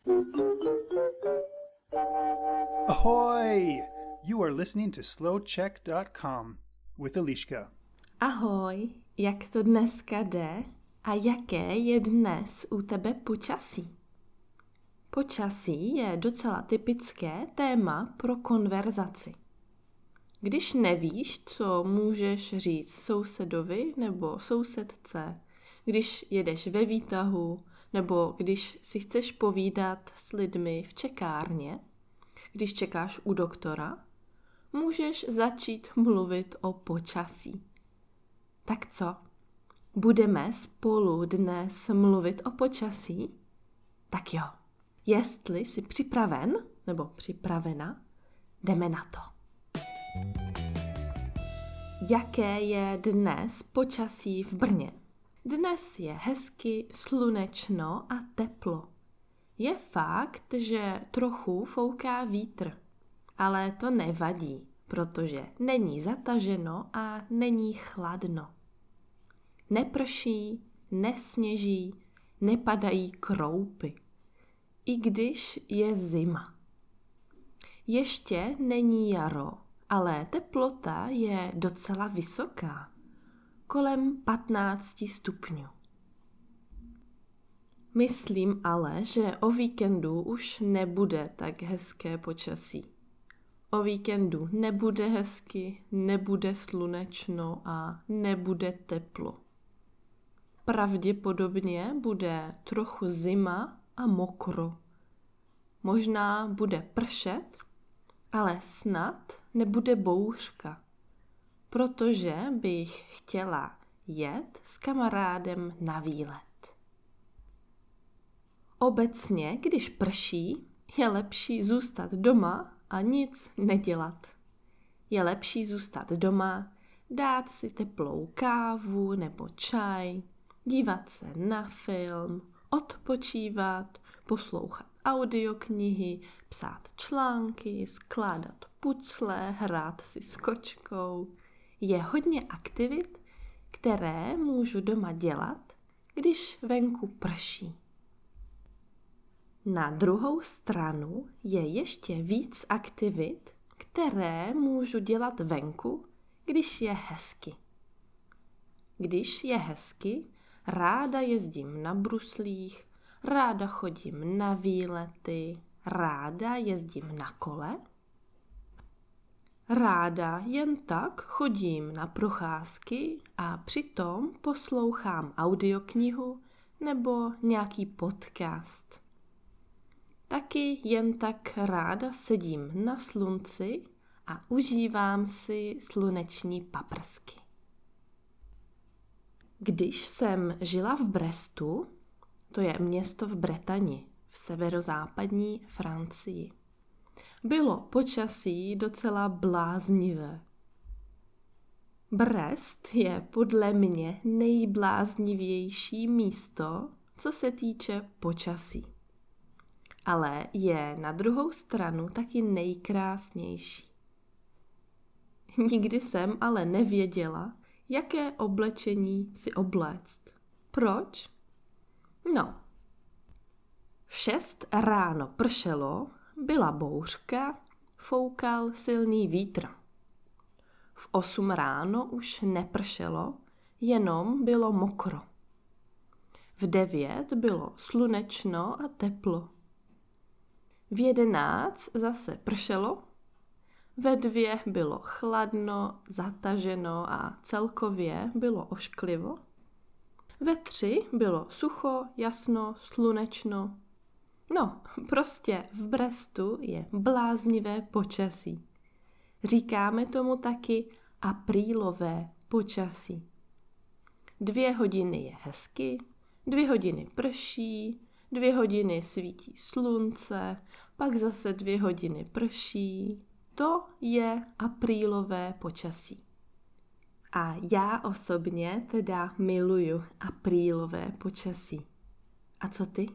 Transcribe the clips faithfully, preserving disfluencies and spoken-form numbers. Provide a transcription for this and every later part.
Ahoy! You are listening to slow check dot com with Eliška. Ahoj, jak to dneska jde a jaké je dnes u tebe počasí? Počasí je docela typické téma pro konverzaci. Když nevíš, co můžeš říct sousedovi nebo sousedce, když jedeš ve výtahu nebo když si chceš povídat s lidmi v čekárně, když čekáš u doktora, můžeš začít mluvit o počasí. Tak co? Budeme spolu dnes mluvit o počasí? Tak jo. Jestli jsi připraven nebo připravena, jdeme na to. Jaké je dnes počasí v Brně? Dnes je hezky slunečno a teplo. Je fakt, že trochu fouká vítr, ale to nevadí, protože není zataženo a není chladno. Neprší, nesněží, nepadají kroupy, i když je zima. Ještě není jaro, ale teplota je docela vysoká, kolem patnáct stupňů. Myslím ale, že o víkendu už nebude tak hezké počasí. O víkendu nebude hezky, nebude slunečno a nebude teplo. Pravděpodobně bude trochu zima a mokro. Možná bude pršet, ale snad nebude bouřka, protože bych chtěla jet s kamarádem na výlet. Obecně, když prší, je lepší zůstat doma a nic nedělat. Je lepší zůstat doma, dát si teplou kávu nebo čaj, dívat se na film, odpočívat, poslouchat audioknihy, psát články, skládat pucle, hrát si s kočkou. Je hodně aktivit, které můžu doma dělat, když venku prší. Na druhou stranu je ještě víc aktivit, které můžu dělat venku, když je hezky. Když je hezky, ráda jezdím na bruslích, ráda chodím na výlety, ráda jezdím na kole. Ráda jen tak chodím na procházky a přitom poslouchám audioknihu nebo nějaký podcast. Taky jen tak ráda sedím na slunci a užívám si sluneční paprsky. Když jsem žila v Brestu, to je město v Bretani, v severozápadní Francii, bylo počasí docela bláznivé. Brest je podle mě nejbláznivější místo, co se týče počasí. Ale je na druhou stranu taky nejkrásnější. Nikdy jsem ale nevěděla, jaké oblečení si obléct. Proč? No. V šest ráno pršelo, byla bouřka, foukal silný vítr. V osm ráno už nepršelo, jenom bylo mokro. V devět bylo slunečno a teplo. V jedenáct zase pršelo, ve dvě bylo chladno, zataženo a celkově bylo ošklivo. Ve tři bylo sucho, jasno, slunečno. No, prostě v Brestu je bláznivé počasí. Říkáme tomu taky aprílové počasí. Dvě hodiny je hezky, dvě hodiny prší, dvě hodiny svítí slunce, pak zase dvě hodiny prší. To je aprílové počasí. A já osobně teda miluju aprílové počasí. A co ty?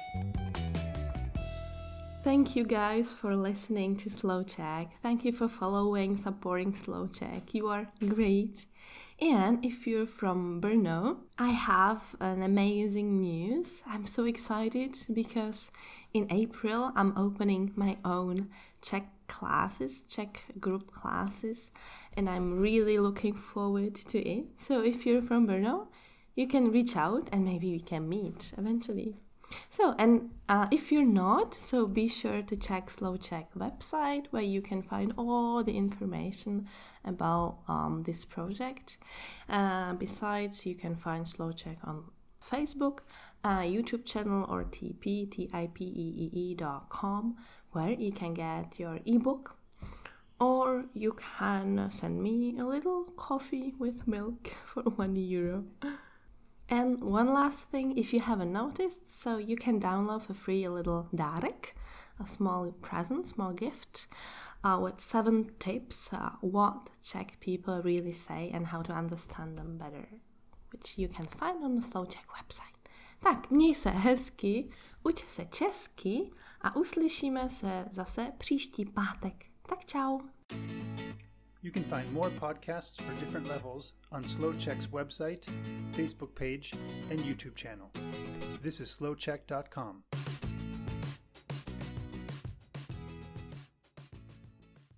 Thank you guys for listening to Slow Check. Thank you for following, supporting Slow Check. You are great. And if you're from Brno, I have an amazing news. I'm so excited because in April I'm opening my own Czech classes, Czech group classes, and I'm really looking forward to it. So if you're from Brno, you can reach out and maybe we can meet eventually. So, and uh, if you're not, so be sure to check Slow Czech website where you can find all the information about um, this project. Uh, besides, you can find Slow Czech on Facebook, uh, YouTube channel, or T P, T I P E E E dot com, where you can get your ebook, or you can send me a little coffee with milk for one euro. And one last thing, if you haven't noticed, so you can download for free a little dárek, a small present, small gift, uh, with seven tips uh, what Czech people really say and how to understand them better, which you can find on the Slow Czech website. Tak, měj se hezky, uč se česky a uslyšíme se zase příští pátek. Tak čau. You can find more podcasts for different levels on Slow Czech's website, Facebook page, and YouTube channel. This is slow czech dot com.